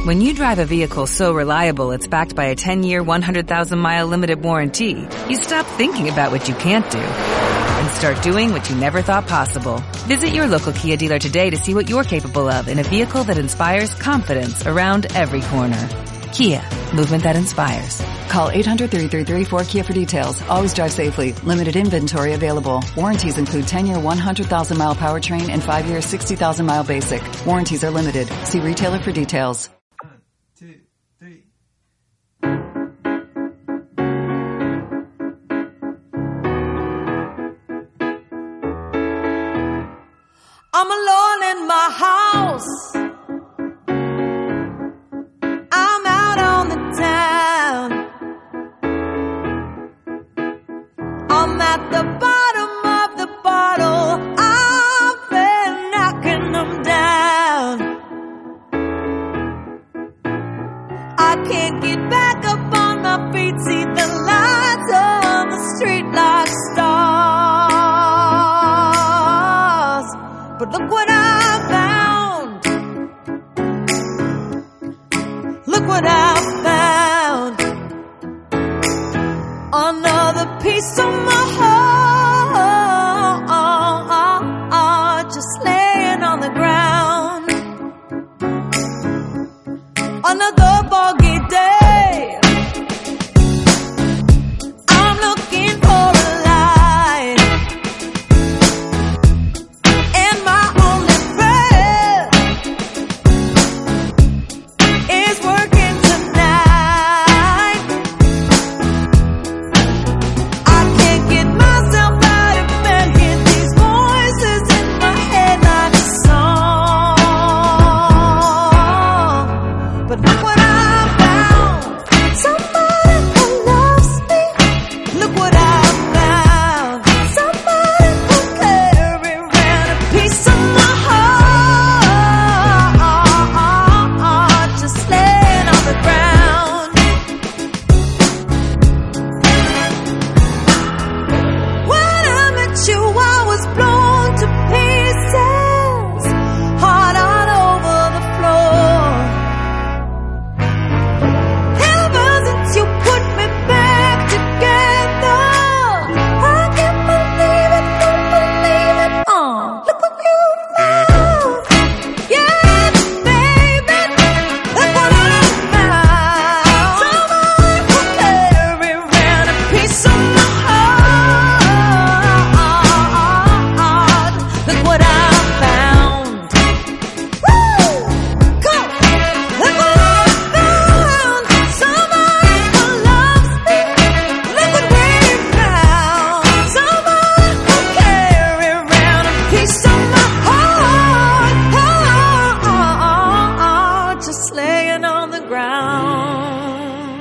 When you drive a vehicle so reliable it's backed by a 10-year, 100,000-mile limited warranty, you stop thinking about what you can't do and start doing what you never thought possible. Visit your local Kia dealer today to see what you're capable of in a vehicle that inspires confidence around every corner. Kia, movement that inspires. Call 800-3334-KIA for details. Always drive safely. Limited inventory available. Warranties include 10-year, 100,000-mile powertrain and 5-year, 60,000-mile basic. Warranties are limited. See retailer for details. 1, 2, 3. I'm alone in my house. I'm out on the town. I'm at the bottom of the bottle. I've been knocking them down. I can't get back up on my feet. See the lights on the street like stars. But look what I found. Look what I found. Another piece of my heart just laying on the ground. Another foggy day. I'm looking for a light. And my only friend is working tonight. I can't get myself out of bed. Hear these voices in my head like a song. But look what I found. Somebody who loves me. Look what I found. Somebody who carry around a piece of my heart just laying on the ground. When I met you, I was blown to pieces, heart out over the floor. Ever since you put me back together, I can't believe it, don't believe it. Look what you found. Yeah, baby, look what I found. Somebody who carry around a piece of my heart. Look what I found. Woo! Come, look what I found. Somebody who loves me. Look what we found. Somebody who carry around a piece of my heart, just laying on the ground.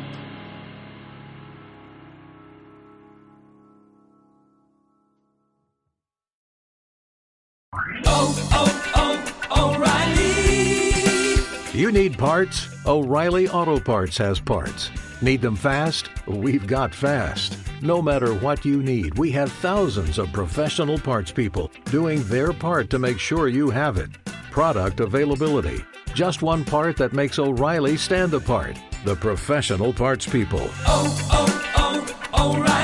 You need parts? O'Reilly Auto Parts has parts. Need them fast? We've got fast. No matter what you need, we have thousands of professional parts people doing their part to make sure you have it. Product availability. Just one part that makes O'Reilly stand apart. The professional parts people. O'Reilly.